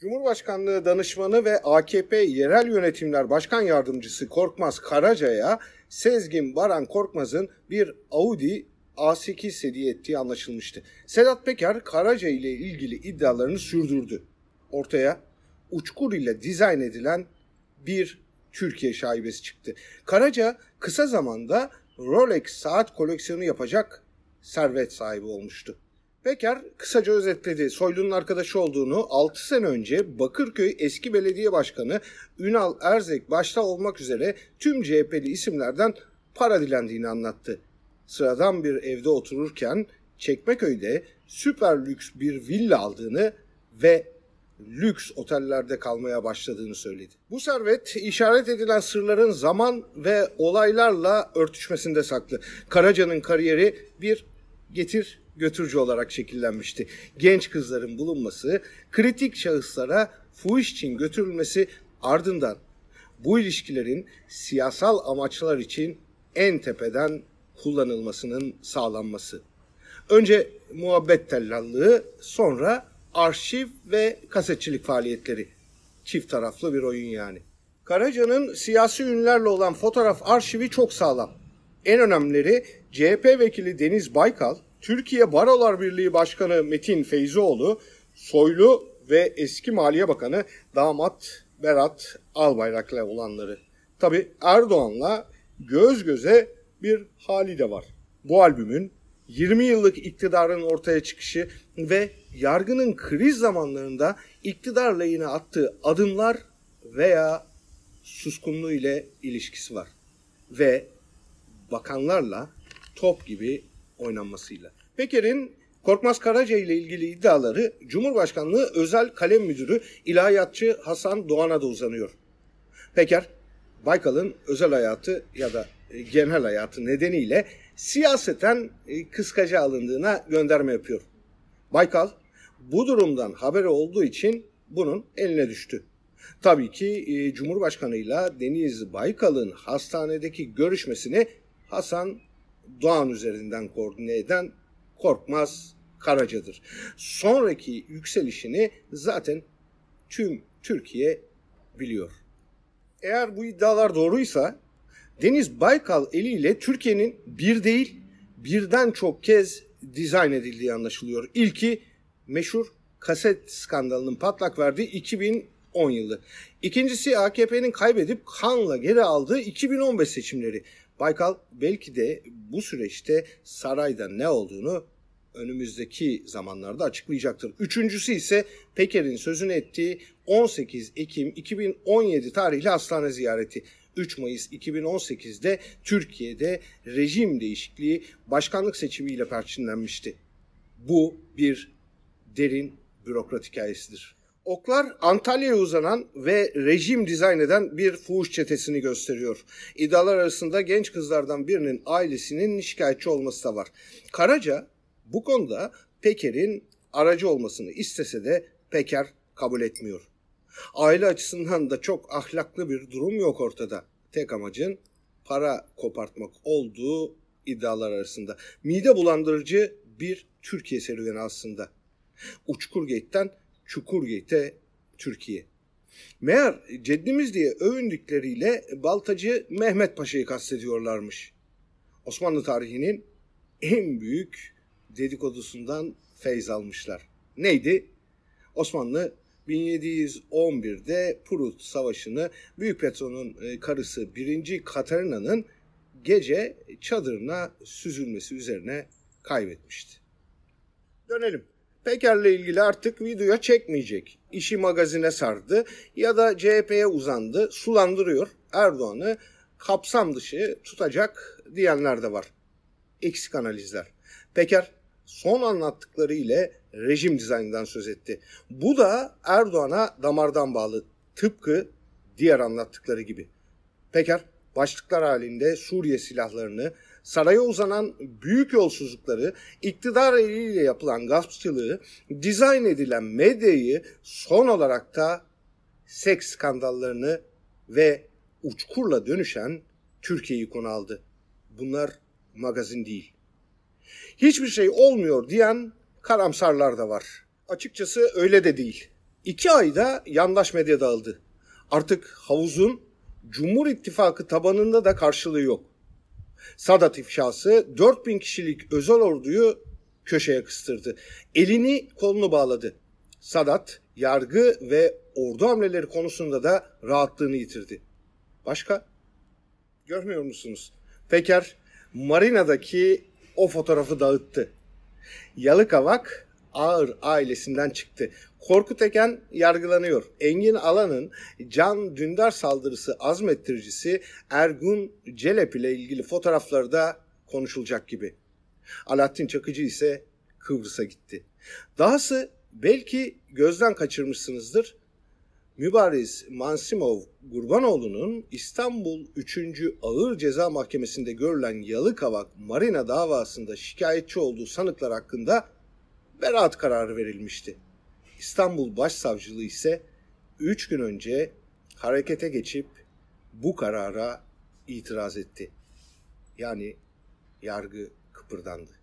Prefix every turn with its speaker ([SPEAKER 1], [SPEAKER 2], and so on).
[SPEAKER 1] Cumhurbaşkanlığı Danışmanı ve AKP Yerel Yönetimler Başkan Yardımcısı Korkmaz Karaca'ya Sezgin Baran Korkmaz'ın bir Audi A8 hediye ettiği anlaşılmıştı. Sedat Peker Karaca ile ilgili iddialarını sürdürdü. Ortaya uçkur ile dizayn edilen bir Türkiye şaibesi çıktı. Karaca kısa zamanda Rolex saat koleksiyonu yapacak servet sahibi olmuştu. Peker kısaca özetledi. Soylu'nun arkadaşı olduğunu 6 sene önce Bakırköy eski belediye başkanı Ünal Erzek başta olmak üzere tüm CHP'li isimlerden para dilendiğini anlattı. Sıradan bir evde otururken Çekmeköy'de süper lüks bir villa aldığını ve lüks otellerde kalmaya başladığını söyledi. Bu servet işaret edilen sırların zaman ve olaylarla örtüşmesinde saklı. Karaca'nın kariyeri bir getir götürücü olarak şekillenmişti. Genç kızların bulunması, kritik şahıslara fuhuş için götürülmesi, ardından bu ilişkilerin siyasal amaçlar için en tepeden kullanılmasının sağlanması. Önce muhabbet tellallığı, sonra arşiv ve kasetçilik faaliyetleri. Çift taraflı bir oyun yani. Karaca'nın siyasi ünlülerle olan fotoğraf arşivi çok sağlam. En önemlileri CHP vekili Deniz Baykal, Türkiye Barolar Birliği Başkanı Metin Feyzioğlu, Soylu ve eski Maliye Bakanı damat Berat Albayrak'la olanları. Tabi Erdoğan'la göz göze bir hali de var. Bu albümün 20 yıllık iktidarın ortaya çıkışı ve yargının kriz zamanlarında iktidar lehine attığı adımlar veya suskunluğu ile ilişkisi var. Ve bakanlarla top gibi oynanmasıyla. Peker'in Korkmaz Karaca ile ilgili iddiaları Cumhurbaşkanlığı Özel Kalem Müdürü İlahiyatçı Hasan Doğan'a da uzanıyor. Peker, Baykal'ın özel hayatı ya da genel hayatı nedeniyle siyaseten kıskaca alındığına gönderme yapıyor. Baykal bu durumdan haberi olduğu için bunun eline düştü. Tabii ki Cumhurbaşkanıyla Deniz Baykal'ın hastanedeki görüşmesini Hasan Doğan üzerinden koordine eden Korkmaz Karaca'dır. Sonraki yükselişini zaten tüm Türkiye biliyor. Eğer bu iddialar doğruysa Deniz Baykal eliyle Türkiye'nin bir değil birden çok kez dizayn edildiği anlaşılıyor. İlki meşhur kaset skandalının patlak verdiği 2010 yılı. İkincisi AKP'nin kaybedip kanla geri aldığı 2015 seçimleri. Baykal belki de bu süreçte sarayda ne olduğunu önümüzdeki zamanlarda açıklayacaktır. Üçüncüsü ise Peker'in sözünü ettiği 18 Ekim 2017 tarihli hastane ziyareti. 3 Mayıs 2018'de Türkiye'de rejim değişikliği başkanlık seçimiyle perçinlenmişti. Bu bir derin bürokrat hikayesidir. Oklar Antalya'ya uzanan ve rejim dizayn eden bir fuhuş çetesini gösteriyor. İddialar arasında genç kızlardan birinin ailesinin şikayetçi olması da var. Karaca bu konuda Peker'in aracı olmasını istese de Peker kabul etmiyor. Aile açısından da çok ahlaklı bir durum yok ortada. Tek amacın para kopartmak olduğu iddialar arasında. Mide bulandırıcı bir Türkiye serüveni aslında. Uçkurgate'den Çukurgate'e Türkiye. Meğer ceddimiz diye övündükleriyle Baltacı Mehmet Paşa'yı kastediyorlarmış. Osmanlı tarihinin en büyük dedikodusundan feyz almışlar. Neydi? Osmanlı 1711'de Prut Savaşı'nı Büyük Petro'nun karısı 1. Katarina'nın gece çadırına süzülmesi üzerine kaybetmişti. Dönelim. Peker'le ilgili artık videoya çekmeyecek. İşi magazine sardı ya da CHP'ye uzandı, sulandırıyor. Erdoğan'ı kapsam dışı tutacak diyenler de var. Eksik analizler. Peker son anlattıkları ile rejim dizaynından söz etti. Bu da Erdoğan'a damardan bağlı. Tıpkı diğer anlattıkları gibi. Peker başlıklar halinde Suriye silahlarını, saraya uzanan büyük yolsuzlukları, iktidar eliyle yapılan gaspçılığı, dizayn edilen medyayı, son olarak da seks skandallarını ve uçkurla dönüşen Türkiye'yi konu aldı. Bunlar magazin değil. Hiçbir şey olmuyor diyen karamsarlar da var. Açıkçası öyle de değil. 2 ayda yandaş medya dağıldı. Artık havuzun Cumhur İttifakı tabanında da karşılığı yok. Sadat ifşası 4000 kişilik özel orduyu köşeye kıstırdı. Elini kolunu bağladı. Sadat yargı ve ordu hamleleri konusunda da rahatlığını yitirdi. Başka? Görmüyor musunuz? Peker marinadaki o fotoğrafı dağıttı. Yalıkavak Ağır ailesinden çıktı. Korkut Eken yargılanıyor. Engin Alan'ın Can Dündar saldırısı azmettiricisi Ergun Celep ile ilgili fotoğrafları da konuşulacak gibi. Alaaddin Çakıcı ise Kıbrıs'a gitti. Dahası belki gözden kaçırmışsınızdır. Mübariz Mansimov Gurbanoğlu'nun İstanbul 3. Ağır Ceza Mahkemesi'nde görülen Yalıkavak Marina davasında şikayetçi olduğu sanıklar hakkında beraat kararı verilmişti. İstanbul Başsavcılığı ise 3 gün önce harekete geçip bu karara itiraz etti. Yani yargı kıpırdandı.